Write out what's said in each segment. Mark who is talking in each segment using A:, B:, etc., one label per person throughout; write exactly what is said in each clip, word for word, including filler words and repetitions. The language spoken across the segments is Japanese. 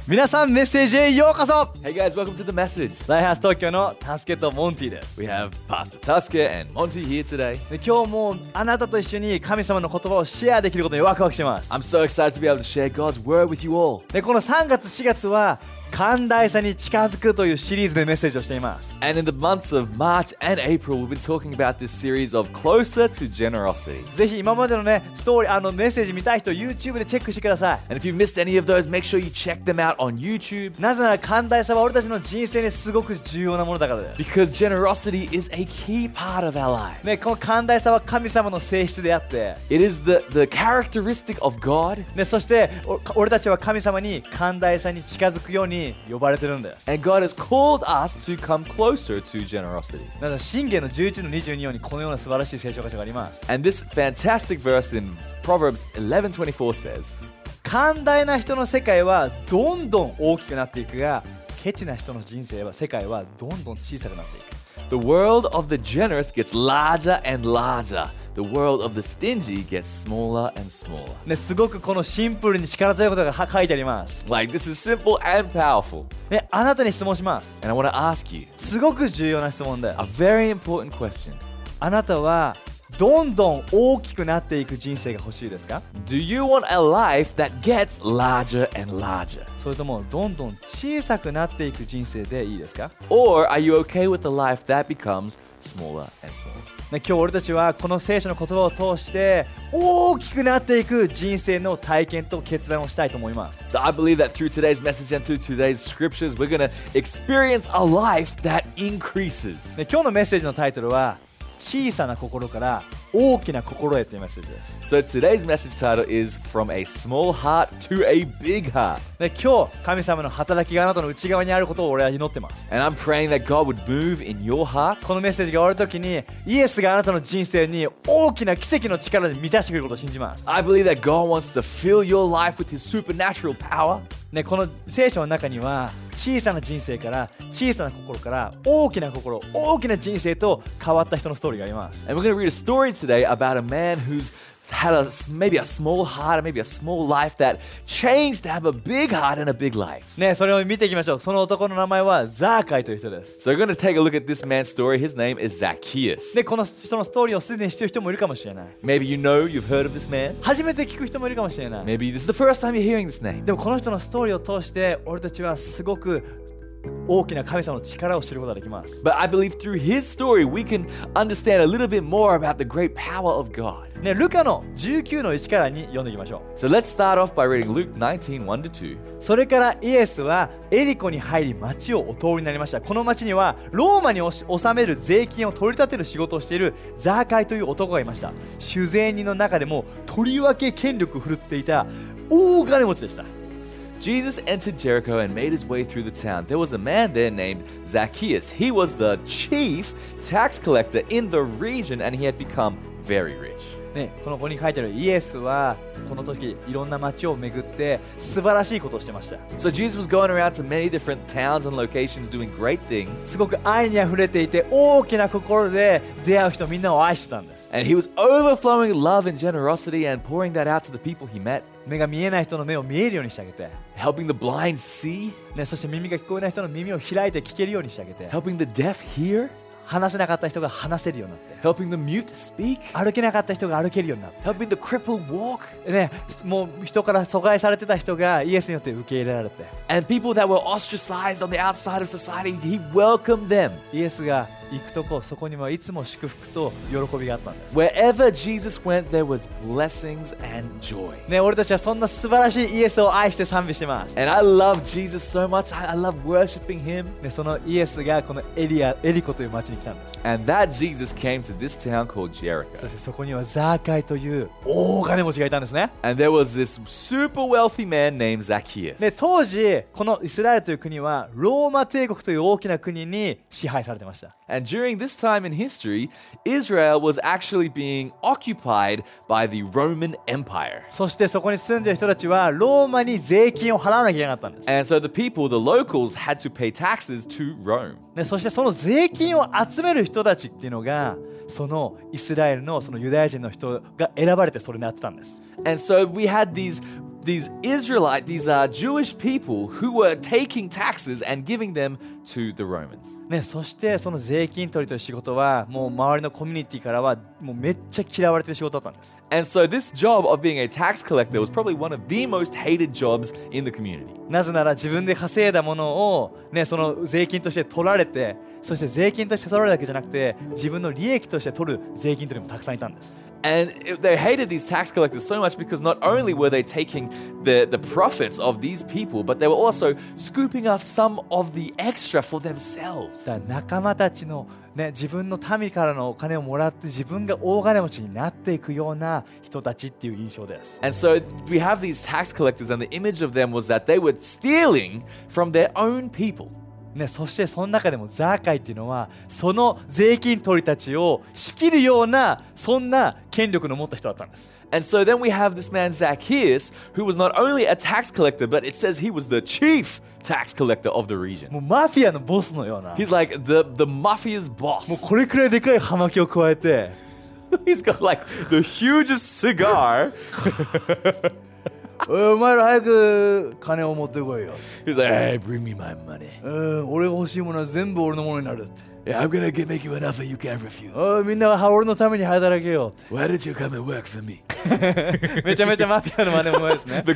A: 皆さんメッセージへようこそ。
B: Hey guys, welcome to the message.
A: ライハース東京のタスケとモンティです。
B: We have Pastor Tusker and Monty here today.
A: で今日もあなたと一緒に神様の言葉をシェアできることにワクワクしてます。
B: I'm so excited to be able to share God's word with you all.
A: でこのさんがつしがつは寛大さに近づくというシリーズでメッセージをしています。
B: And in the months of March and April, we've been talking about this series of Closer to Generosity.
A: ぜひ今までのねストーリーあのメッセージ見たい人 YouTube でチェックしてください。
B: And if you've missed any of those, make sure you check them out on YouTube.
A: なぜなら寛大さは俺たちの人生にすごく重要なものだからです。
B: Because generosity is a key part of our lives.
A: ね、この寛大さは神様の性質であって、
B: It is the, the characteristic of God.
A: ね、そしてお俺たちは神様に寛大さに近づくように呼ばれてるんです。
B: And God has called us to come closer to generosity.
A: なので箴言のじゅういちのにじゅうにようにこのような素晴らしい聖書箇所があります。
B: And this fantastic verse in Proverbs eleven twenty-four says,
A: 寛大な人の世界はどんどん大きくなっていくが、ケチな人の人生は世界はどんどん小さくなっていく。
B: The world of the generous gets larger and larger. The world of the stingy gets smaller and smaller.
A: ね、すごくこのシンプルに力強いことがは書いてあります。
B: Like, this is simple and powerful.
A: ね、あなたに質問します。
B: And I want to ask you
A: すごく重要な質問で
B: a
A: す。
B: very important question.
A: あなたはどんどん大きくなっていく人生が欲しいですか？
B: Do you want a life that gets larger and larger?
A: それともどんどん小さくなっていく人生でいいですか？
B: Or are you okay with a life that becomes smaller and smaller?
A: ね、今日俺たちはこの聖書の言葉を通して大きくなっていく人生の体験と決断をしたいと思います。
B: So I believe that through today's message and through today's scriptures, we're going to experience a life that increases.
A: ね、今日のメッセージのタイトルは小さな心から大きな心へというメッセージです。
B: So today's message title is From a Small Heart to a Big Heart.
A: ね、今日神様の働きがあなたの内側にあることを俺は祈ってます。
B: And I'm praying that God would move in your heart.
A: このメッセージが終わるときにイエスがあなたの人生に大きな奇跡の力で満たしてくれることを信じます。
B: I believe that God wants to fill your life with His supernatural power.
A: ね、この聖書の中には小さな人生から小さな心から大きな心、大きな人生と変わった人のストーリーがあります。
B: And we're going to read a story today about a man who's had a, maybe a small heart or maybe a small life that changed to have a big heart and a big life.
A: ね、それを見ていきましょう。その男の名前はザーカイという人です。
B: So we're going to take a look at this man's story. His name is Zacchaeus.
A: で、この人のストーリーをすでに知っている人もいるかもしれない。
B: Maybe you know, you've heard of this man.
A: 初めて聞く人もいるかもしれない。
B: Maybe this is the first time you're hearing this name.
A: でもこの人のストーリーを通して俺たちはすごく大きな神様の力を知ることができます。
B: But I believe through his story, we can understand a little bit more about the great power of God.
A: ね、ルカのじゅうきゅうのいちからに読んでいきましょう。
B: So let's start off by reading Luke nineteen, one to two.
A: それからイエスはエリコに入り町をお通りになりました。この町にはローマに納める税金を取り立てる仕事をしているザーカイという男がいました。酒税人の中でもとりわけ権力を振るっていた大金持ちでした。
B: Jesus entered Jericho and made his way through the town. There was a man there named Zacchaeus. He was the chief tax collector in the region and he had become very rich.
A: ね、このここに書いてあるイエスはこの時いろんな町を巡って素晴らしいことをしてました。
B: So Jesus was going around to many different towns and locations doing great things.
A: すごく愛にあふれていて大きな心で出会う人みんなを愛してたんです。
B: And he was overflowing love and generosity and pouring that out to the people he met.
A: 目が見えない人の目を見えるようにしてあげて、
B: Helping the blind see.
A: ね、そして耳が聞こえない人の耳を開いて聞けるようにしてあげて、
B: Helping the deaf hear.
A: 話せなかった人が話せるようになって、
B: Helping the mute speak.
A: 歩けなかった人が歩けるようになって、
B: Helping the crippled walk.
A: ね、もう人から阻害されてた人がイエスによって受け入れられて、
B: And people that were ostracized on the outside of society, he welcomed them.
A: イエスが行くとこそこにはいつも祝福と喜びがあったんです。
B: Wherever Jesus went, there was blessings and joy.
A: ね、俺たちはそんな素晴らしいイエスを愛して賛美してます。
B: And I love Jesus so much. I, I love worshiping him.
A: ね、そのイエスがこのエリアエリコという町に来たんです。
B: And that Jesus came to this town called Jericho.
A: そしてそこにはザーカイという大金持ちがいたんですね。
B: And there was this super wealthy man named Zacchaeus.
A: で、当時このイスラエルという国はローマ帝国という大きな国に支配されてました。
B: And during this time in history, Israel was actually being occupied by the Roman Empire.
A: そしてそこに住んでいる人たちはローマに税金を払わなきゃいけなかったんです。
B: And so the people, the locals, had to pay taxes to Rome.
A: で、そしてその税金を集める人たちっていうのがそのイスラエルのそのユダヤ人の人が選ばれてそれになってたんです。
B: And so we had these these Israelite, these uh, Jewish people who were taking taxes and giving them to the Romans.
A: ね、そしてその税金取りという仕事はもう周りのコミュニティからはもうめっちゃ嫌われてる仕事だったんです。
B: And so this job of being a tax collector was probably one of the most hated jobs in the community.
A: なぜなら自分で稼いだものを、ね、その税金として取られて、そして税金として取られるだけじゃなくて自分の利益として取る税金取りもたくさんいたんです。
B: And it- they hated these tax collectors so much because not only were they taking the, the profits of these people, but they were also scooping up some of the extra for themselves.
A: だから仲間たちの、ね、自分の民からのお金をもらって自分が大金持ちになっていくような人たちっていう印象です。
B: And so we have these tax collectors, and the image of them was that they were stealing from their own people.
A: ね、そしてその中でもザーカイっていうのはその税金取りたちを仕切るようなそんな権力の持った人だったんです。
B: And so then we have this man Zacchaeus, who was not only a tax collector, but it says he was the chief tax collector of the region.
A: もうマフィアのボスのような、も
B: He's like the, the mafia's
A: う
B: boss.
A: これくらいでかい葉巻を加えて
B: He's got like the hugest cigar.
A: おいお前ら早く金を持ってこいよ。
B: He's like, hey, bring me my money.
A: うん、俺が欲しいものは全部俺のものになるって。
B: Yeah, I'm gonna get, make you an offer you can't refuse.
A: おいみんなは俺のために働けよって。
B: Why don't you come and work for me?
A: めちゃめちゃマフィアの真似もですね。
B: The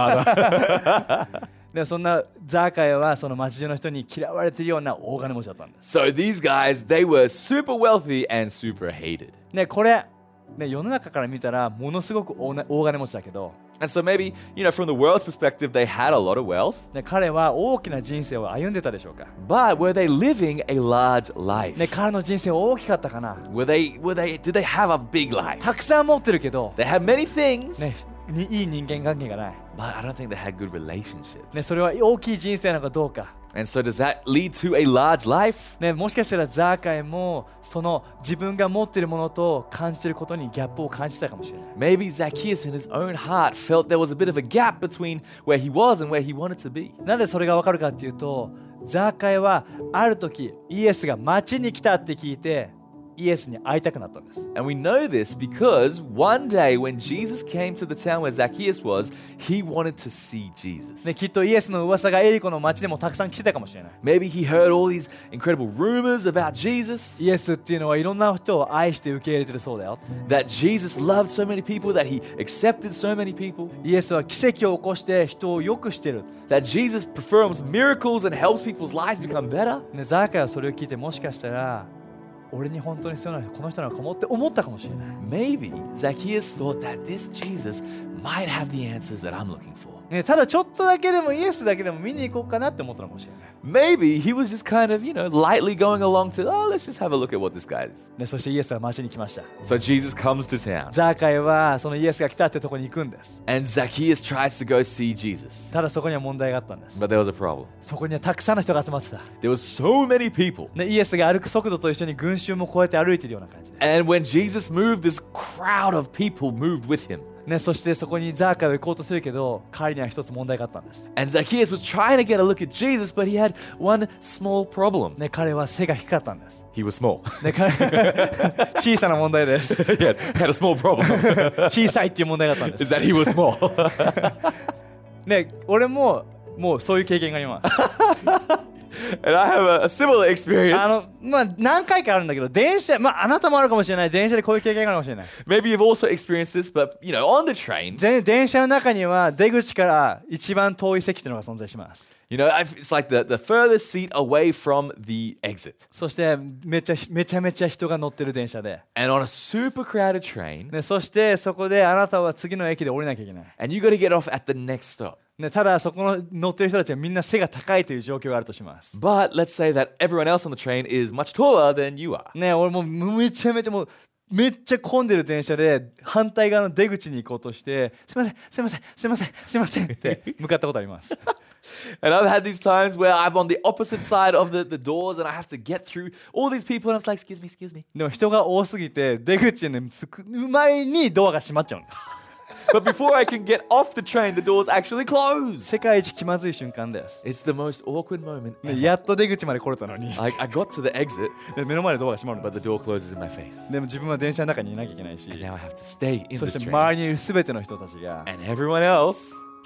B: Godfather.
A: でそんなザーカイはその町中の人に嫌われているような大金持ちだったんです。
B: So these guys, they were super wealthy and super hated.
A: ね、これ、ね、世の中から見たらものすごく大な大金持ちだけど、
B: And so maybe, you know, from the world's perspective, they had a lot of wealth.
A: ね、彼は大きな人生を歩んでたでしょうか。
B: But were they living a large life?
A: ね、彼の人生は大きかったかな。
B: Were they, were they, did they have a big life?
A: たくさん持ってるけど、
B: They had many things,
A: ね、にいい人間関係がない。
B: but I don't think they had good relationships.
A: ね、それは大きい人生なのかどうか。
B: And so does that lead to a large life?
A: ね、もしかしたらザーカイもその自分が持っているものと感じていることにギャップを感じてたかもしれない。
B: Maybe Zacchaeus in his own heart felt there was a bit of a gap between where he was and where he wanted to be.
A: なぜそれがわかるかっていうと、ザーカイはある時イエスが町に来たって聞いてイエスに会いたくなったんです。
B: And we know this because one day when Jesus came to the town where Zacchaeus was, he wanted to see Jesus.
A: ね、きっとイエスの噂がエリコの町でもたくさん来てたかもしれない。
B: Maybe he heard all these incredible rumors about Jesus,
A: イエスっていうのはいろんな人を愛して受け入れてるそうだよ。
B: that Jesus loved so many people, that he accepted so many people,
A: イエスは奇跡を起こして人を良くしてる。
B: that Jesus performs miracles and helps people's lives become better.
A: ね、ザーカイはそれを聞いてもしかしたら俺に本当に必要なのはこの人なのかもって思ったかもしれない。
B: Maybe Zacchaeus thought that this Jesus might have the answers that I'm looking for.
A: ね、ただちょっとだけでもイエスだけでも見に行こうかなって思ったのかもしれない。
B: Maybe he was just kind of, you know, lightly going along to, oh, let's just have a look at what this guy is.
A: ね、そしてイエスは町に来ました。
B: So Jesus comes to town,
A: ザーカイはそのイエスが来たってとこに行くんです。
B: and Zacchaeus tries to go see Jesus.
A: ただそこには問題があったんです。
B: But there was a problem.
A: そこにはたくさんの人が集まってた。
B: There was so many people.
A: ね、イエスが歩く速度と一緒に群衆もこうやって歩いているような感じで、
B: And when Jesus moved, this crowd of people moved with him.
A: ね、そしてそこにザーカイは行こうとするけど彼には一つ問題があったんです。
B: And Zacchaeus was trying to get a look at Jesus, but he had one small problem.
A: ね、彼は背が低かったんです。
B: He was small.
A: ね、彼小さな問題です。
B: He had, had a small problem.
A: 小さいっていう問題があったんで
B: Is
A: す。
B: that he was small.
A: ね、俺ももうそういう経験があります。
B: And I have a, a similar experience.
A: あのまあ何回かあるんだけど、電車、まああなたもあるかもしれない。電車でこういう経験があるかもしれない。
B: Maybe you've also experienced this, but you know, on the train,
A: 全電車の中には出口から一番遠い席というのが存在します。
B: you know, I've, it's like the, the furthest seat away from the exit.
A: そしてめちゃめちゃめちゃ人が乗ってる電車で、
B: And on a super crowded train,
A: ね、そしてそこであなたは次の駅で降りなきゃいけない。
B: and you got to get off at the next stop.
A: ね、ただそこの乗ってる人たちはみんな背が高いという状況があるとします。
B: But let's say that everyone else on the train is much taller than you are.
A: ね、俺もうめちゃめちゃもうめっちゃ混んでる電車で反対側の出口に行こうとしてすいませんすいませんすいませんすいませんって向かったことあります。
B: And I've had these times where I'm on the opposite side of the, the doors and I have to get through all these people and I'm like, excuse me, excuse me.
A: でも人が多すぎて出口に着く前にドアが閉まっちゃうんです。
B: But before I can get off the train, the doors actually close.
A: 世界一気まずい瞬間です。
B: It's the most awkward moment
A: ね、
B: ever.
A: やっと出口まで来れたのに
B: I, I got to the exit,
A: で目の前でドアが閉まるん
B: but
A: で
B: the
A: す。
B: door closes in my face.
A: でも自分は電車の中にいなきゃいけないし、
B: And now I have to stay in
A: そ
B: this
A: して
B: train.
A: 周りにいる全ての人たちが
B: And everyone else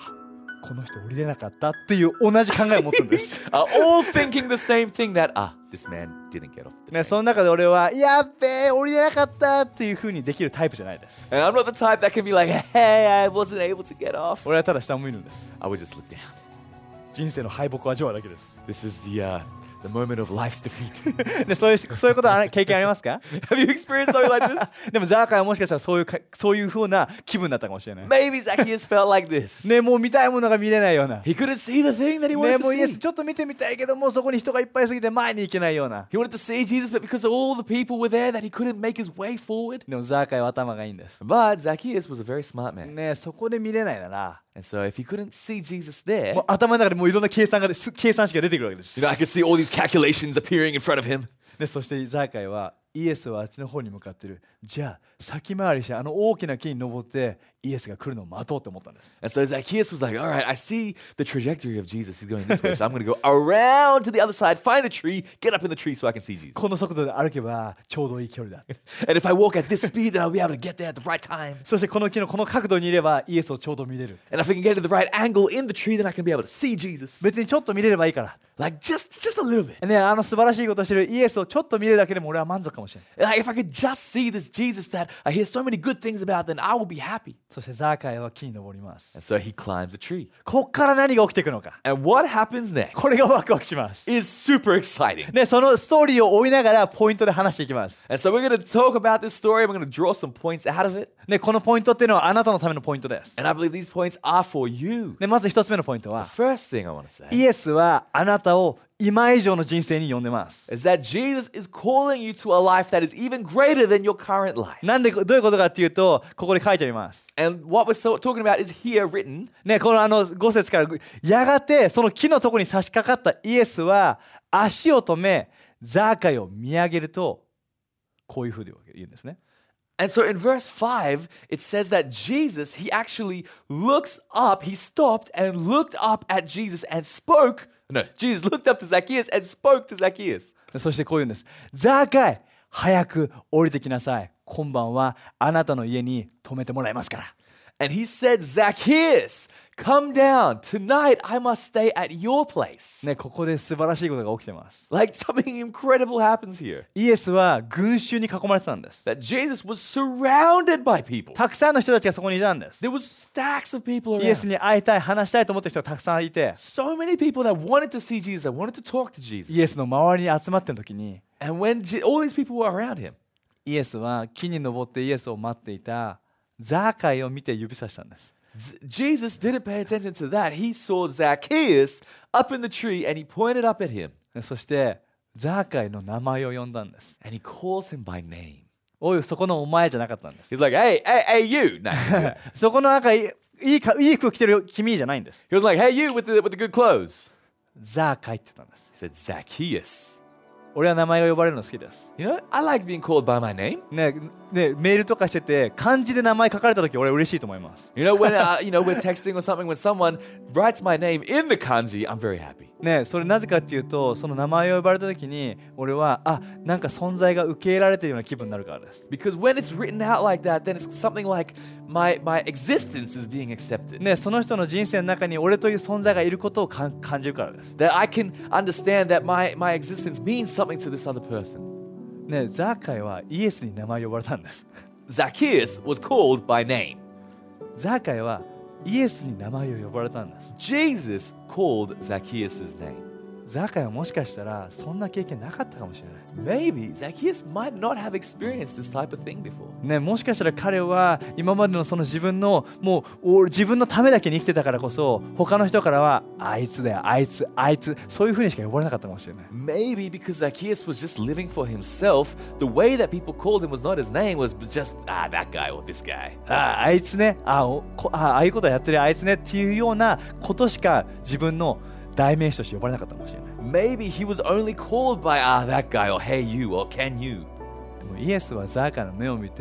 A: この人降りれなかったっていう同じ考えを持つんです。
B: are all thinking the same thing that, ah, this man didn't get off the
A: ね、
B: train.
A: その中で俺はやっべえ降りれなかったっていう風にできるタイプじゃないです。
B: And I'm not the type that can be like, hey, I wasn't able to get off.
A: 俺はただ下を見るんです。
B: I would just look down.
A: 人生の敗北を味わうだけです。
B: This is the uh, the moment of life's defeat.
A: でそういうそういうことは経験ありますか？
B: Have you experienced something like this?
A: でもザーカイはもしかしたらそういうかそういう風な気分だったかもしれない。
B: Maybe Zacchaeus felt like this.
A: ね、もう見たいものが見れないような。
B: He couldn't see the thing that he
A: ね、
B: wanted
A: もうイエ
B: to
A: ス
B: see.
A: ちょっと見てみたいけどもうそこに人がいっぱいすぎて前に行けないような。
B: He wanted to see Jesus, but because all the people were there, that he couldn't make his way forward.
A: でもザーカイは頭がいいんです。
B: But Zacchaeus was a very smart man.
A: ね、そこで見れないなら、
B: And so if he couldn't see Jesus there,
A: もう頭の中でもういろんな計算がす計算式が出てくるわけです。
B: you know, I could see all these calculations appearing in front of him.
A: でそしてザーカイはイエスはあっちの方に向かってる。じゃあ先回りしてあの大きな木に登ってイエスが来るのを待とうって思ったんです。
B: And so Zacchaeus was like, all right, I see the trajectory of Jesus. He's going this way, so I'm going to go around to the other side, find a tree, get up in the tree so I can see Jesus.
A: この速度で歩けばちょうどいい距離だ。
B: And if I walk at this speed, then I'll be able to get there at the right time.
A: そしてこの木のこの角度にいればイエスをちょうど見れる。
B: And if I can get to the right angle in the tree, then I can be able to see Jesus.
A: 別にちょっと見れればいいから。
B: Like just, just a little bit.
A: ね、あの素晴らしいことをしてるイエスをちょっと見れるだけでも俺は満足かもしれない。
B: Like if I could just see this Jesus that I hear so many good things about, then I will be happy.
A: そしてザーカイは木に登ります。
B: And so he climbs the tree.
A: こっから何が起きていくのか。
B: And what happens next
A: これがワクワクします。
B: is super exciting.
A: で、そのストーリーを追いながらポイントで話していきます。
B: And so we're going to talk about this story. We're going to draw some points out of it.
A: で、このポイントっていうのはあなたのためのポイントです。
B: And I believe these points are for you.
A: で、まず一つ目のポイントは、
B: The first thing I want to say
A: イエスはあなたを今以上の人生に呼んでます。
B: is that Jesus is calling you to a life that is even greater than your current life.
A: なんでどういうことかっていうと、ここで書いてあります。
B: And what we're so talking about is here written.
A: ね、このあのご節からやがてその木のところに差し掛かったイエスは足を止めザーカイを見上げるとこういうふうに言うんですね。
B: And so in verse five, it says that Jesus, he actually looks up, he stopped and looked up at Jesus and spoke. No, Jesus looked up to Zacchaeus and spoke to Zacchaeus.
A: そしてこう言うんです。ザーカイ、早く降りてきなさい。今晩はあなたの家に泊めてもらいますから。
B: And he said, Zacchaeus, come down. Tonight I must stay at your place.
A: ね、ここで素晴らしいことが起きてます。
B: Like something incredible happens here.
A: イエスは群衆に囲まれてたんです。
B: That Jesus was surrounded by people.
A: たくさんの人たちがそこにいたんです。
B: There was stacks of people
A: イエス
B: around.
A: に会いたい、話したいと思ってる人がたくさんいて、
B: So many people that wanted to see Jesus, that wanted to talk to Jesus.
A: イエスの周りに集まってる時に、
B: And when Je- all these people were around him,
A: イエスは木に登ってイエスを待っていたザーカイを見て指さしたんです。
B: Z- Jesus didn't pay attention to that. He saw Zacchaeus up in the tree and he pointed up at him
A: そしてザーカイの名前を呼んだんです。
B: and he calls him by name.
A: おい、そこのお前じゃなかったんです。
B: He's like, hey, hey, hey, you. No.
A: そこのなんかいいいいかいい服着てる君じゃないんです。
B: He was like, hey, you with the, with the good clothes.
A: ザーカイって言ったんです。
B: He said, Zacchaeus.
A: 俺は名前が呼ばれるの好きです。
B: You know, I like being called by my name.
A: ね、ね、メールとかしてて漢字で名前書かれた時俺嬉しいと思います。
B: You know, when uh, you know we're texting or something, when someone writes my name in the kanji, I'm very happy.
A: ね、それなぜかっていうとその名前を呼ばれた時に俺はあなんか存在が受け入れられているような気分になるからです。
B: Because when it's written out like that, then it's something like my my existence is being accepted.
A: ね、その人の人生の中に俺という存在がいることをかん感じるからです。
B: That I can understand that my my existence means something to this other person.
A: ね、ザーカイはイエスに名前を呼ばれたんです。
B: Zacchaeus was called by name.
A: ザーカイはイエスに名前を呼ばれたんです。
B: Jesus called Zacchaeus' name.
A: ザーカイはもしかしたらそんな経験なかったかもしれない。
B: Maybe Zacchaeus might not have experienced this type of thing before.
A: ね、もしかしたら彼は今までのその自分のもう自分のためだけに生きてたからこそ他の人からはあいつだよあいつあいつそういう風にしか呼ばれなかったかもしれない。
B: Maybe because Zacchaeus was just living for himself, the way that people called him was not his name, was just, ah, that guy or this guy.
A: ああいつねあおこあああいうことやってるあいつねっていうようなことしか自分の代名詞として呼ばれなかったかもしれない。
B: Maybe he was only called by, ah, that guy or hey you or can you.
A: でもイエスはザーカイの目を見て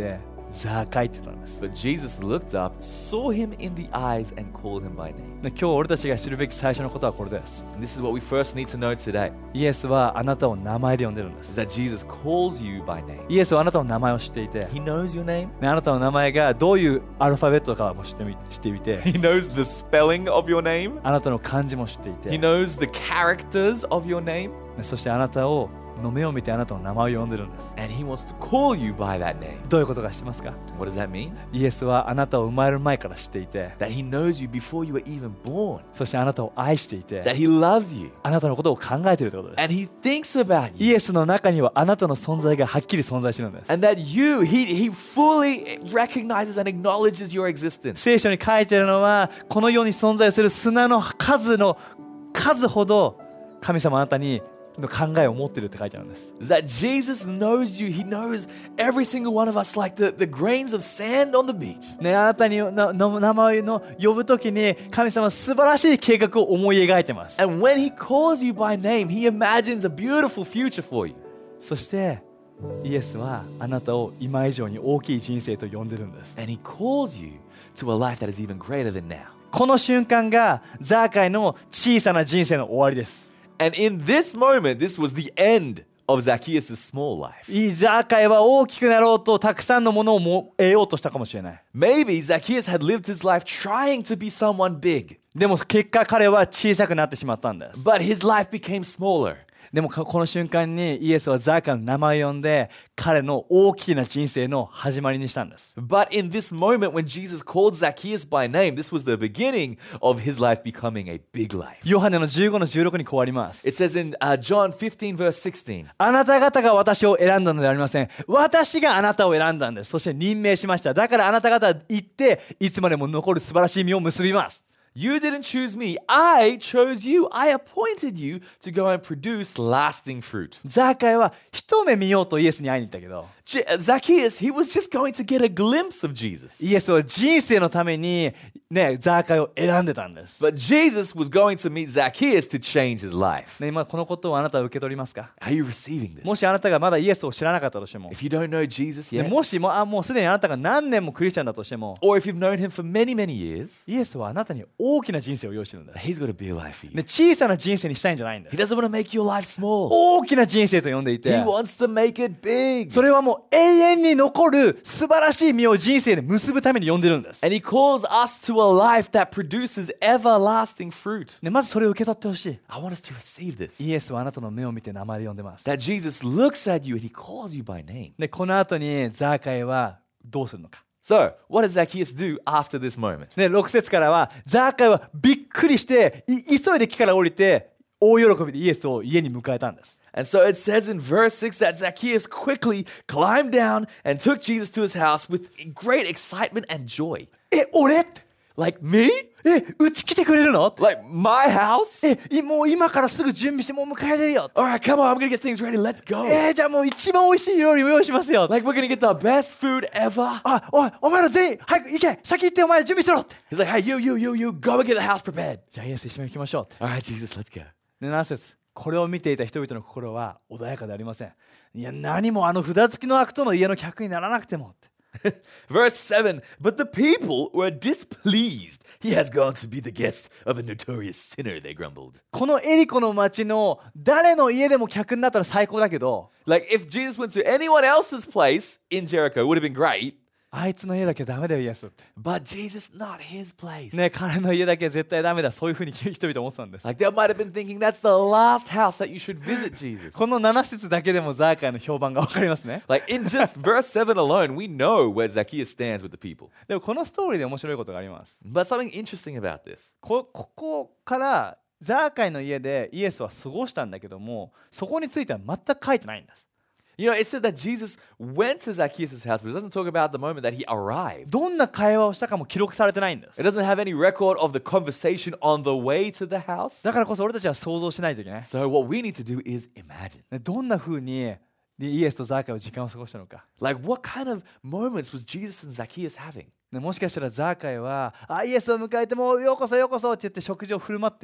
A: ザーカイって言ったんです。
B: But Jesus looked up, saw him in the eyes, and called him by name.
A: で今日俺たちが知るべき最初のことはこれです。
B: And this is what we first need to know today,
A: イエスはあなたを名前で呼んでるんで
B: is
A: す。
B: that Jesus calls you by name.
A: イエスはあなたの名前を知っていて、
B: He knows your name.
A: ね、あなたの名前がどういうアルファベットかも知ってみ知っていて、
B: He knows the spelling of your name.
A: あなたの漢字も知ってい
B: He
A: て、
B: knows the characters of your name.
A: ね、そしてあなたをの目を見てあなたの名前を呼んでるんです。
B: And he wants to call you by that name.
A: どういうことか知ってますか？
B: What does that mean?
A: イエスはあなたを生まれる前から知っていて、
B: That he knows you before you were even born.
A: そしてあなたを愛していて、
B: That he loves you.
A: あなたのことを考えているということです。
B: And he thinks about
A: イ
B: you.
A: エスの中にはあなたの存在がはっきり存在しているんです。
B: And that you, he, he fully recognizes and acknowledges your existence.
A: 聖書に書いてあるのは、この世に存在する砂の数の数ほど神様あなたにの考えを持っているって書いてあるんです。
B: That Jesus knows you. He knows every single one of us like the, the grains of sand on the beach.
A: ね、あなたになの名前の呼ぶときに神様は素晴らしい計画を思い描いてます。
B: And when he calls you by name, he imagines a beautiful future for you.
A: そしてイエスはあなたを今以上に大きい人生と呼んでるんです。
B: And he calls you to a life that is even greater than now.
A: この瞬間がザーカイの小さな人生の終わりです。
B: And in this moment, this was the end of Zacchaeus' small life.
A: いいザーカイは大きくなろうとたくさんのものをも得ようとしたかもしれない。
B: Maybe Zacchaeus had lived his life trying to be someone big,
A: でも結果彼は小さくなってしまったんです。
B: but his life became smaller.
A: でもこの瞬間にイエスはザーカイの名前を呼んで彼の大きな人生の始まりにしたんです。
B: But in this moment when Jesus called Zacchaeus by name, this was the beginning of his life becoming a big life.
A: ヨハネのじゅうごのじゅうろくにこうあります。
B: It says in uh, John fifteen verse sixteen,
A: あなた方が私を選んだのではありません。私があなたを選んだんです。そして任命しました。だからあなた方は行っていつまでも残る素晴らしい実を結びます。
B: You didn't choose me, I chose you. I appointed you to go and produce lasting fruit.
A: ザーカイは一目見ようとイエスに会いに行ったけど、
B: J- Zacchaeus, he was just going to get a glimpse of Jesus.
A: イエスは人生のためにね、ザーカイを選んでたんです。
B: But Jesus was going to meet Zacchaeus to change his life.
A: ね、今このことをあなたは受け取りますか？
B: Are you receiving this?
A: もしあなたがまだイエスを知らなかったとしても、
B: If you don't know Jesus
A: ね、
B: yet,
A: もしもあもうすでにあなたが何年もクリスチャンだとしても、
B: or if you've known him for many, many years,
A: イエスはあなたに大きな人生を用意してるんだ。
B: he's got a big life for you.
A: ね、小さな人生にしたいんじゃないんだ
B: He。doesn't want to make your life small.
A: 大きな人生と呼んでい
B: He
A: て、
B: wants to make it big.
A: それはもう永遠に残る素晴らしい実を人生で結ぶために呼んでるんです。
B: And he calls us to a life that produces everlasting fruit.
A: ね、まずそれを受け取ってほしい。
B: I want us to receive this.
A: イエスはあなたの目を見て名前で呼んでます。
B: That Jesus looks at you and he calls you by name.
A: で、この後にザーカイはどうするのか。
B: So, what did Zacchaeus do after this moment?
A: ね、ろく節からはザーカイはびっくりしてい急いで木から降りて大喜びでイエスを家に迎えたんです。
B: And so it says in verse six that Zacchaeus quickly climbed down and took Jesus to his house with great excitement and joy.
A: え、俺って
B: Like me?
A: え、うち来てくれるの
B: Like my house?
A: え、いもう今からすぐ準備してもう迎えれるよ。
B: Alright, come on, I'm gonna get things ready. Let's go.
A: えー、じゃあもう一番美味しい料理を用意しますよ。
B: Like we're gonna get the best food ever.
A: あ、おい、お前ら全員早く行け、先行ってお前ら準備しろって。
B: He's like, hey, you, you, you, you, go and get the house prepared.
A: じゃあイエス一緒に行きましょうって。
B: Alright, Jesus, let's go.
A: で、なな節、これを見ていた人々の心は穏やかでありません。いや、何もあの札付きの悪党の家の客にならなくてもって。
B: Verse seven, but the people were displeased. He has gone to be the guest of a notorious sinner, they grumbled.
A: このエリコの町の誰の家でも客になったら最高だけど、
B: Like if Jesus went to anyone else's place in Jericho, it would have been great.
A: あいつの家だけダメだよイエスって。
B: But Jesus, not his place.
A: ね、彼の家だけ絶対ダメだ、そういうふうに人々思ってたんです。
B: Like they might have been thinking that's the last house that you should visit Jesus.
A: このなな節だけでもザーカイの評判が分かりますね。
B: Like in just verse seven alone, we know where Zacchaeus stands with the people.
A: でもこのストーリーで面白いことがあります。
B: But something interesting about this.
A: こ, ここからザーカイの家でイエスは過ごしたんだけども、そこについては全く書いてないんです。
B: You know, it said that Jesus went to Zacchaeus' house, but it doesn't talk about the moment that he arrived.
A: どんな会話をしたかも記録されてないんです。
B: It doesn't have any record of the conversation on the way to the house.
A: だからこそ俺たちは想像しないといけない。
B: So what we need to do is imagine.
A: ね、どんな風にイエスとザーカイは時間を過ごしたのか。
B: Like what kind of moments was Jesus and Zacchaeus having?
A: ね、もしかしたらザーカイはあイエスを迎えてもようこそようこそって言って食事を振る舞って、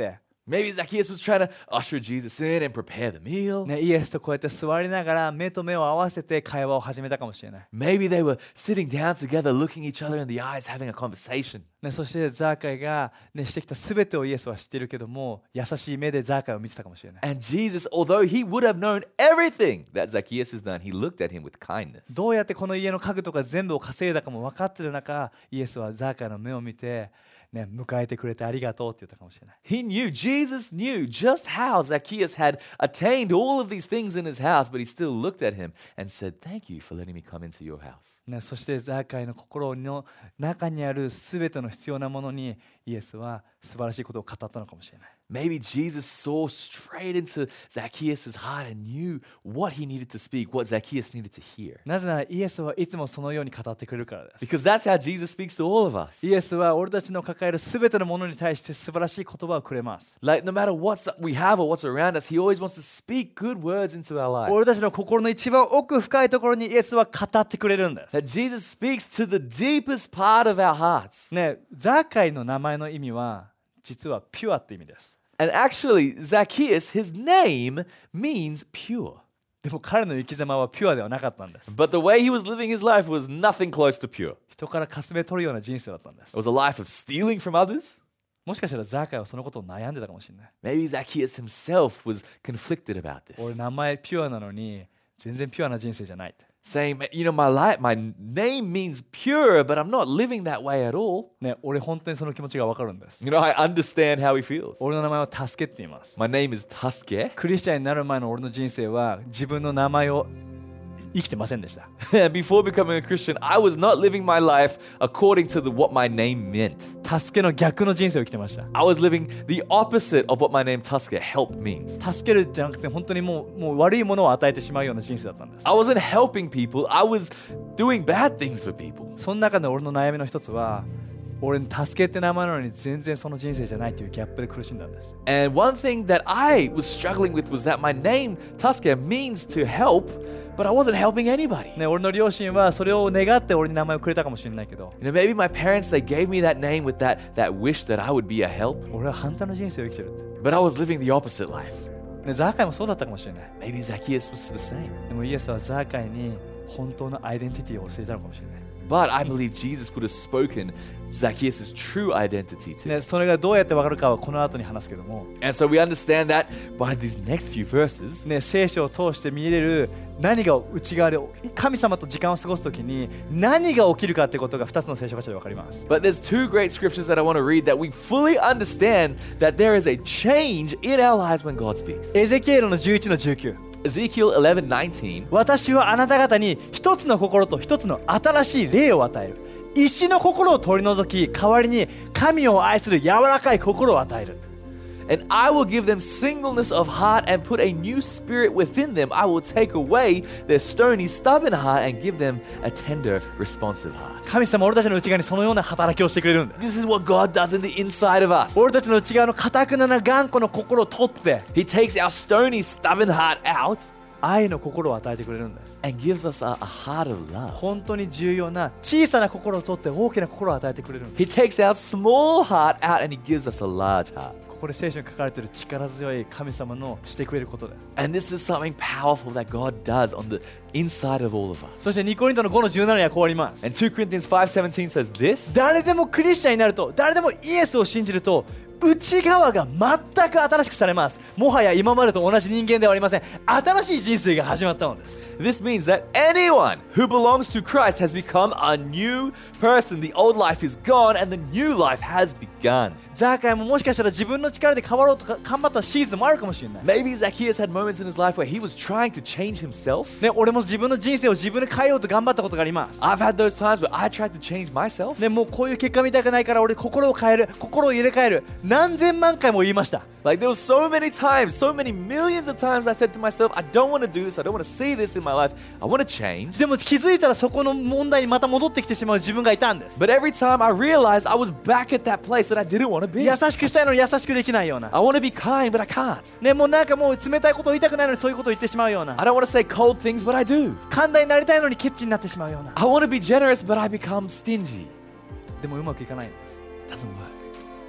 B: Maybe Zacchaeus was trying to usher Jesus in and prepare the meal.
A: ね、イエスとこうやって座りながら目と目を合わせて会話を始めたかもしれない。
B: Maybe they were sitting down together, looking each other in the eyes, having a conversation.
A: ね、そしてザーカイが、ね、してきた全てをイエスは知っているけども、優しい目でザーカイを見てたかもしれない。
B: And Jesus, although he would have known everything that Zacchaeus has done, he looked at him with kindness.
A: どうやってこの家の家具とか全部を稼いだかも分かってる中、イエスはザーカイの目を見て、ね、迎えてくれてありがとうって言ったかもしれない。
B: He knew, Jesus knew just how Zacchaeus had attained all of these things in his house, but he still looked at him and said, "Thank you for letting me come into your house."
A: ね、そしてザーカイの心の中にある全ての必要なものにイエスは素晴らしいことを語ったのかもしれない。
B: Maybe Jesus saw straight into Zacchaeus' heart and knew what he needed to speak, what Zacchaeus needed to hear.
A: なぜならイエスはいつもそのように語ってくれるからです。
B: Because that's how Jesus speaks to all of us.
A: イエスは俺たちの抱える全てのものに対して素晴らしい言葉をくれます。
B: Like, no matter what we have or what's around us, he always wants to speak good words into our life.
A: 俺たちの心の一番奥深いところにイエスは語ってくれるんです。
B: That Jesus speaks to the deepest part of our hearts.
A: ね、ザーカイの名前の意味は実はピュアって意味です。
B: And actually, Zacchaeus, his name means pure.
A: でも彼の生き様はピュアではなかったんです。
B: But the way he was living his life was nothing close to pure.
A: 人からかすめ取るような人生だったんです。
B: It was a life of stealing from others.
A: もしかしたらザーカイはそのことを悩んでたかもしれない。
B: Maybe Zacchaeus himself was conflicted about
A: 俺
B: this,
A: 名前ピュアなのに全然ピュアな人生じゃない。
B: saying, you know, my life, my name means pure, but I'm not living that way at all.
A: ね、俺本当にその気持ちがわかるんです。
B: You know, I understand how he feels.
A: 俺の名前は助けって言います。
B: My name is Tuske.
A: クリスチャンになる前の俺の人生は自分の名前を生きてませんでした。
B: Before becoming a Christian, I was not living my life according to the, what my name meant.
A: 助けの逆の人生を生きてました。
B: I was living the opposite of what my name Tuske, help, means.
A: 助けるじゃなくて本当にもう、もう悪いものを与えてしまうような人生だったんです。
B: I wasn't helping people, I was doing bad things for people.
A: その中で俺の悩みの一つは、俺に助けって名前なのに全然その人生じゃないというギャップで苦しんだんです。
B: And one thing that I was struggling with was that my name Tuske means to help, but I wasn't helping anybody.
A: ね、俺の両親はそれを願って俺に名前をくれたかもしれないけど、
B: You know, maybe my parents, they gave me that name with that, that wish that I would be a help,
A: 俺は反対の人生を生きてるって。
B: but I was living the opposite life.
A: ね、ザーカイもそうだったかもしれない。
B: Maybe Zacchaeus was the same.
A: でもイエスはザーカイに本当のアイデンティティを教えたのかもしれない。
B: But I believe Jesus would have spoken Zacchaeus' true identity to him.
A: ね、それがどうやってわかるかはこの後に話すけども、
B: And so we understand that by these next few verses.
A: ね、聖書を通して見れる何が内側で神様と時間を過ごすときに何が起きるかってことがふたつの聖書箇所でわかります。
B: But there's two great scriptures that I want to read that we fully understand that there is a change in our lives when God speaks.
A: エゼキエルのじゅういちのじゅうきゅう。
B: Ezekiel eleven nineteen.
A: 私はあなた方に一つの心と一つの新しい霊を与える。石の心を取り除き、代わりに神を愛する柔らかい心を与える。
B: And I will give them singleness of heart and put a new spirit within them. I will take away their stony, stubborn heart and give them a tender, responsive heart.
A: 神様は俺たちの内側にそのような働きをしてくれるんだ。
B: This is what God does in the inside of us.
A: 俺たちの内側の堅くなな頑固の心を取って
B: He takes our stony, stubborn heart out
A: 愛の心を与えてくれるんです。
B: and gives us a, a heart of love.
A: 本当に重要な小さな心を取って大きな心を与えてくれるんです。
B: He takes our small heart out and he gives us a large heart.
A: ここで聖書に書かれている力強い神様のしてくれることです。
B: And this is something powerful that God does on the inside of all of us.
A: そしてにコリントのごのじゅうななにはこうあります。
B: And two Corinthians five seventeen says this.
A: 誰でもクリスチャンになると、誰でもイエスを信じると内側が全く新しくされます。もはや今までと同じ人間ではありません。新しい人生が始まったのです。
B: This means that anyone who belongs to Christ has become a new person. The old life is gone and the new life has begun.
A: ザーカイももしかしたら自分の力で変わろうとか頑張ったシーズンもあるかもしれない。
B: Maybe Zacchaeus had moments in his life where he was trying to change himself.
A: ね、俺も自分の人生を自分で変えようと頑張ったことがあります。
B: I've had those times where I tried to change myself.
A: ね、もうこういう結果見たくないから俺心を変える、心を入れ替える。何千万回も言いました。
B: Like there were so many times, so many millions of times I said to myself, I don't want to do this, I don't want to see this in my life, I want to change.
A: でも気づいたらそこの問題にまた戻ってきてしまう自分がいたんです。
B: But every time I realized I was back at that place that I didn't want to be.
A: 優しくしたいのに優しくできないような。
B: I want to be kind, but I can't.
A: ね、もうなんかもう冷たいことを言いたくないのにそういうことを言ってしまうような。
B: I don't want to say cold things, but I do.
A: 寛大になりたいのにケチになってしまうような。
B: I want to be generous, but I become stingy.
A: でもうまくいかないんです。
B: It doesn't work.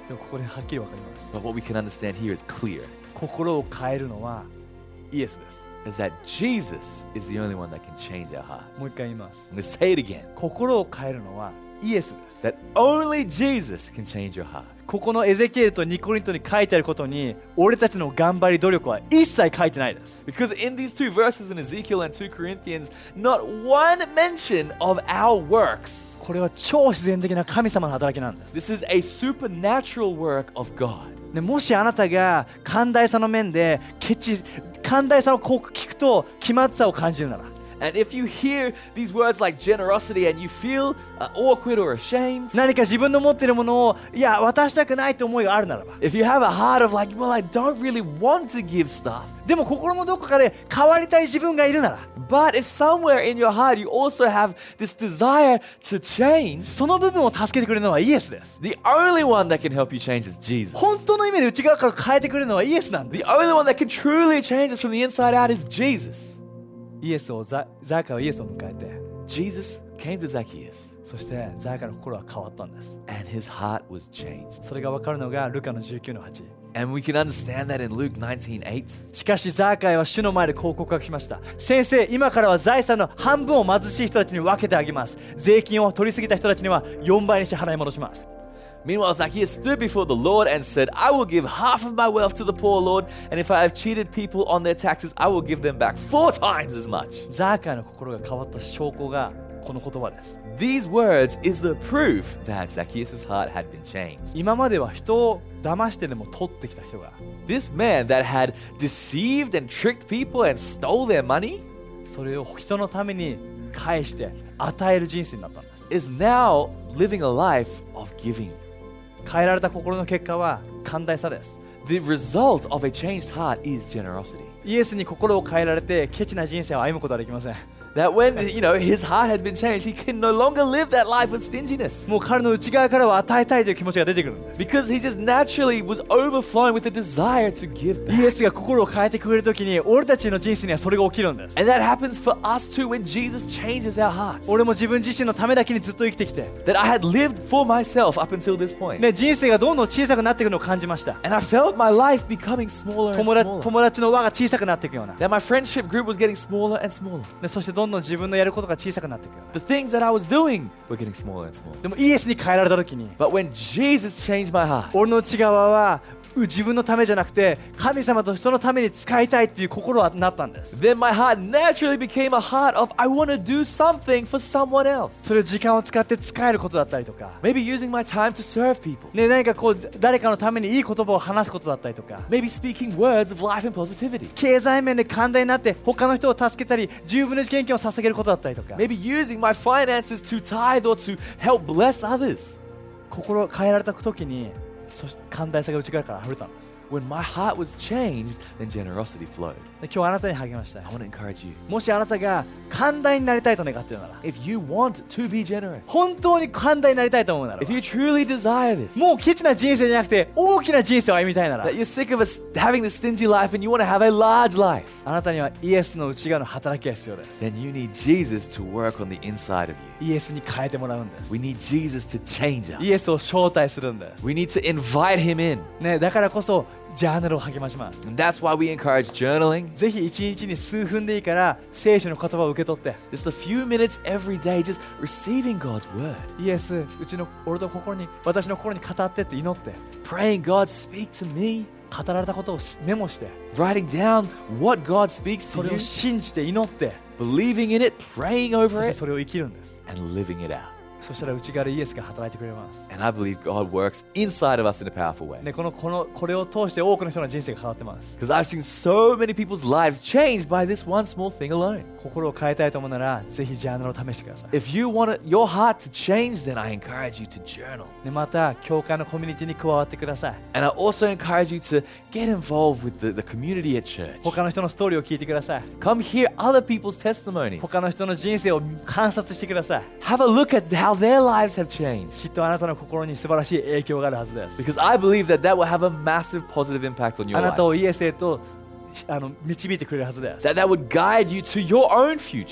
A: でもここではっきりわかります。
B: But what we can understand here is clear,
A: 心を変えるのはイエスです。
B: is that Jesus is the only one that can change our heart.
A: もう一回言います。
B: I'm going to say it again,
A: 心を変えるのはイエスです。
B: that only Jesus can change your heart.
A: ここのエゼキエルとニコリントに書いてあることに俺たちの頑張り努力は一切書いてないです。
B: Because in these two verses in Ezekiel and two Corinthians, not one mention of our works.
A: これは超自然的な神様の働きなんです。
B: This is a supernatural work of God.
A: でもしあなたが寛大さの面でケチ寛大さをこう聞くと気まずさを感じるなら、
B: And if you hear these words like generosity and you feel uh, awkward or ashamed,
A: 何か自分の持っているものをいや渡したくないという思いがあるならば、
B: if you have a heart of like, well, I don't really want to give stuff,
A: でも心のどこかで変わりたい自分がいるなら、
B: but if somewhere in your heart you also have this desire to change,
A: その部分を助けてくれるのはイエスです。
B: the only one that can help you change is Jesus.
A: 本当の意味で内側から変えてくれるのはイエスなんで
B: The
A: す。
B: only one that can truly change us from the inside out is Jesus.
A: イエスをザザーカはイエスを迎えて、
B: Jesus came to Zacchaeus
A: そしてザーカの心は変わったんです。
B: and his heart was changed.
A: それが分かるのがルカのじゅうきゅうのはち。
B: And we can understand that in Luke nineteen eight.
A: しかしザーカイは主の前でこう告白しました。先生、今からは財産の半分を貧しい人たちに分けてあげます。税金を取りすぎた人たちにはよんばいにして払い戻します。
B: Meanwhile, Zacchaeus stood before the Lord and said, I will give half of my wealth to the poor, Lord, and if I have cheated people on their taxes, I will give them back four times as much.
A: ザーカイの心が変わった証拠がこの言葉です。
B: These words is the proof that Zacchaeus' heart had been changed.
A: 今までは人を騙してでも取ってきた人が、
B: This man that had deceived and tricked people and stole their money
A: それを人のために返して与える人生になったんです。
B: is now living a life of giving.
A: 変えられた心の結果は寛大さです。
B: The result of a changed heart is generosity.
A: イエスに心を変えられてケチな人生を歩むことはできません。
B: That when, you know, his heart had been changed, he can no longer live that life of stinginess.
A: もう彼の内側からは与えたいという気持ちが出てくるんです。
B: Because he just naturally was overflowing with the desire to give
A: イ
B: back.
A: エスが心を変えてくれるときに俺たちの人生にはそれが起きるんです。
B: And that happens for us too when Jesus changes our hearts.
A: 俺も自分自身のためだけにずっと生きてきて、
B: That I had lived for myself up until this point.
A: ね、人生がどんどん小さくなっていくのを感じました。
B: And I felt my life becoming smaller and
A: 友達
B: smaller.
A: 友達の輪が小さくなっていくような。
B: That my friendship group was getting smaller and smaller.
A: でそしてどんどん自分のやることが小さくなっていくような。
B: The things that I was doing were getting smaller and smaller.
A: でもイエスに変えられたときに、
B: But when Jesus changed my heart,
A: 俺の内側は自分のためじゃなくて神様と人のために使いたいっていう心はなったんです。
B: then my heart naturally became a heart of I want to do something for someone else.
A: それを時間を使って使えることだったりとか、
B: Maybe using my time to serve people.
A: ね、何かこう誰かのためにいい言葉を話すことだったりとか、
B: Maybe speaking words of life and positivity.
A: 経済面で寛大になって他の人を助けたりじゅうぶんのいち献金を捧げることだったりとか、
B: Maybe using my finances to tithe or to help bless others.
A: 心を変えられた時にそして寛大さが内側から溢れたんです。
B: When my heart was changed, then generosity flowed.
A: で今日あなたに励ましたい。
B: I want to encourage you.
A: もしあなたが寛大になりたいと願っているなら、
B: If you want to be generous,
A: 本当に寛大になりたいと思うなら
B: if you truly desire this,
A: もうケチな人生じゃなくて大きな人生を歩みたいなら、
B: that you're sick of us having this stingy life and you want to have a large life,
A: あなたにはイエスの内側の働きが必要です。
B: then you need Jesus to work on the inside of you.
A: イエスに変えてもらうんです。
B: We need Jesus to change
A: イエ
B: us.
A: スを招待するんです、
B: We need to invite him in.
A: ね、だからこそジャーナルを励まします。
B: And that's why we encourage journaling.
A: ぜひ一日に数分でいいから聖書の言葉を受け取って、
B: Just a few minutes every day, just receiving God's word.
A: イエス、うちの俺の心に私の心に語ってって祈って、
B: Praying, God, speak to me.
A: 語られたことをメモして、
B: Writing down what God speaks
A: そ
B: to
A: れ
B: you.
A: を信じて祈って、
B: Believing in it, praying
A: そ
B: over
A: して
B: it,
A: それを生きるんです。
B: and living it out.
A: そしたら内側でイエスが働いてくれます。
B: And I believe God works inside of us in a powerful way.
A: ね、このこのこれを通して多くの人の人生が変わってます。
B: Because I've seen so many people's lives changed by this one small thing alone.
A: 心を変えたいと思うならぜひジャーナルを試してください。
B: If you want your heart to change, then I encourage you to journal.
A: ね、また教会のコミュニティに加わってください。
B: And I also encourage you to get involved with the, the community at church.
A: 他の人のストーリーを聞いてください。
B: Come hear other people's testimonies.
A: 他の人の人生を観察してください。
B: Have a look at how their lives have changed.
A: きっとあなたの心に素晴らしい影響があるはずです。
B: Because I believe that that will have a massive positive impact on your
A: あなたを
B: life.
A: イエスへとあの導いてくれるはずです。
B: That that would guide you to your own future.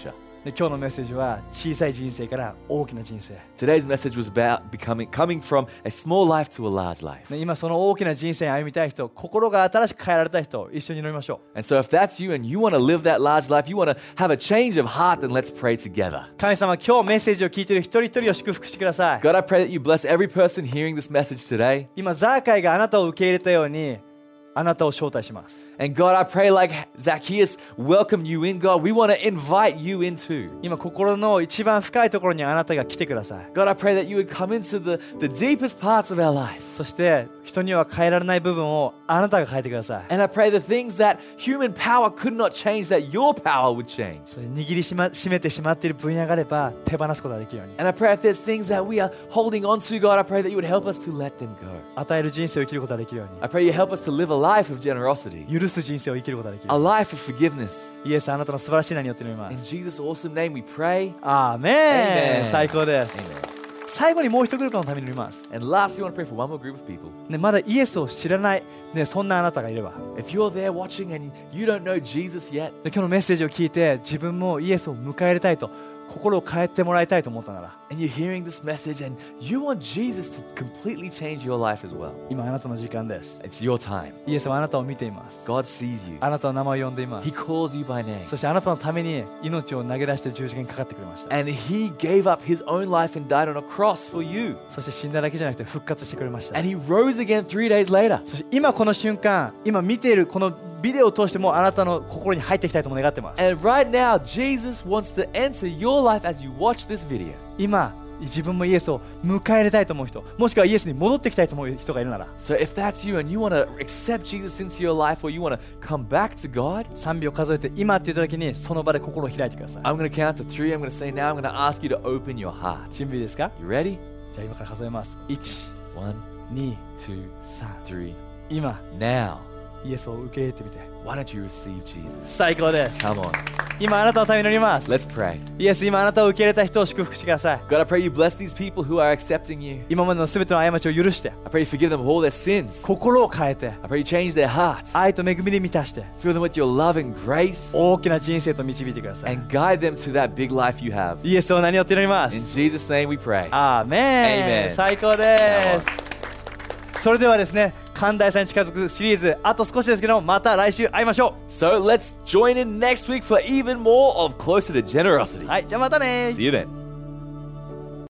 A: で今日のメッセージは小さい人生から大きな人生。
B: Today's message was about becoming, coming from a small life to a large life.
A: で今その大きな人生に歩みたい人、心が新しく変えられた人、一緒に祈りましょう。
B: And so if that's you and you want to live that large life, you want to have a change of heart, then let's pray together.
A: 神様、今日メッセージを聞いている一人一人を祝福してください。
B: God, I pray that you bless every person hearing this message today.
A: 今ザーカイがあなたを受け入れたように、あなたを招待します。
B: And God, I pray like Zacchaeus welcomed you in, God, we want to invite you into.
A: 今心の一番深いところにあなたが来てください。
B: God, I pray that you would come into the, the deepest parts of our life.
A: そして人には変えられない部分をあなたが変えてください。
B: And I pray the things that human power could not change, that your power would change.
A: それ握りしま締めてしまっている分野があれば手放すことができるように。
B: And I pray if there's things that we are holding on to, God, I pray that you would help us to let them go.
A: 与える人生を生きることができるように。
B: I pray you help us to live a life of generosity,
A: 許す人生を生きることができる
B: a。life of forgiveness.
A: イエス、あなたの素晴らしい名によって祈りま
B: In
A: す。
B: Jesus' awesome name we pray.
A: アーメン。
B: Amen.
A: 最高です。
B: Amen.
A: 最後にもう一グループのために祈ります。
B: And last, we want to pray for one more group of people.
A: ね、まだイエスを知らない、ね、そんなあなたがいれば、
B: If you're there watching and you don't know Jesus yet,
A: で今日のメッセージを聞いて自分もイエスを迎え入れたいと、心を変えてもらいたいと思ったなら、
B: and you're hearing this message and you want Jesus to completely change your life as well,
A: 今あなたの時間です。
B: it's your time.
A: イエスはあなたを見ています。
B: God sees you.
A: あなたの名前を呼んでいま
B: He
A: す。
B: calls you by name.
A: そしてあなたのために命を投げ出して十字架にかかってくれました。
B: And He gave up His own life and died on a cross for you.
A: そして死んだだけじゃなくて復活してくれました。
B: And He rose again three days later.
A: そして今この瞬間、今見ているこのビデオを通してもあなたの心に入っていきたいとも願ってます。
B: And right now, Jesus wants to enter your life as you watch this video.
A: 今自分もイエスを迎え入れたいと思う人、もしくはイエスに戻ってきたいと思う人がいるなら、
B: So if that's you and you want to accept Jesus into your life or you want to come back to God,
A: さんびょう数えて今って言った時にその場で心を開いてください。
B: I'm going to count to three. I'm going to say now, I'm going to ask you to open your heart.
A: 準備ですか？
B: You ready?
A: じゃあ今から数えます。いち、
B: One,
A: に、
B: two,
A: さん。
B: three.
A: 今
B: Now,
A: イエスを受け入れてみて。
B: why don't you receive Jesus?
A: 最高です。
B: Come on.
A: 今あなたのために祈ります。
B: Let's pray.
A: イエス、今あなたを受け入れた人を祝福してください。
B: God, I pray you bless these people who are accepting you.
A: 今までのすべての過ちを許して、
B: I pray you forgive them of all their sins.
A: 心を変えて、
B: I pray you change their hearts.
A: 愛と恵みで満たして、
B: Fill them with your love and grace
A: 大きな人生と導いてください。
B: and guide them to that big life you have.
A: イエスを名によって祈りま
B: In
A: す。
B: Jesus' name we pray.
A: アーメン。
B: Amen.
A: 最高です。それではですね、寛大さに近づくシリーズ、あと少しですけども、また来週会いましょ
B: So let's join in next week for even more of Closer to Generosity.
A: う。はい、じゃあまたね。
B: See you then.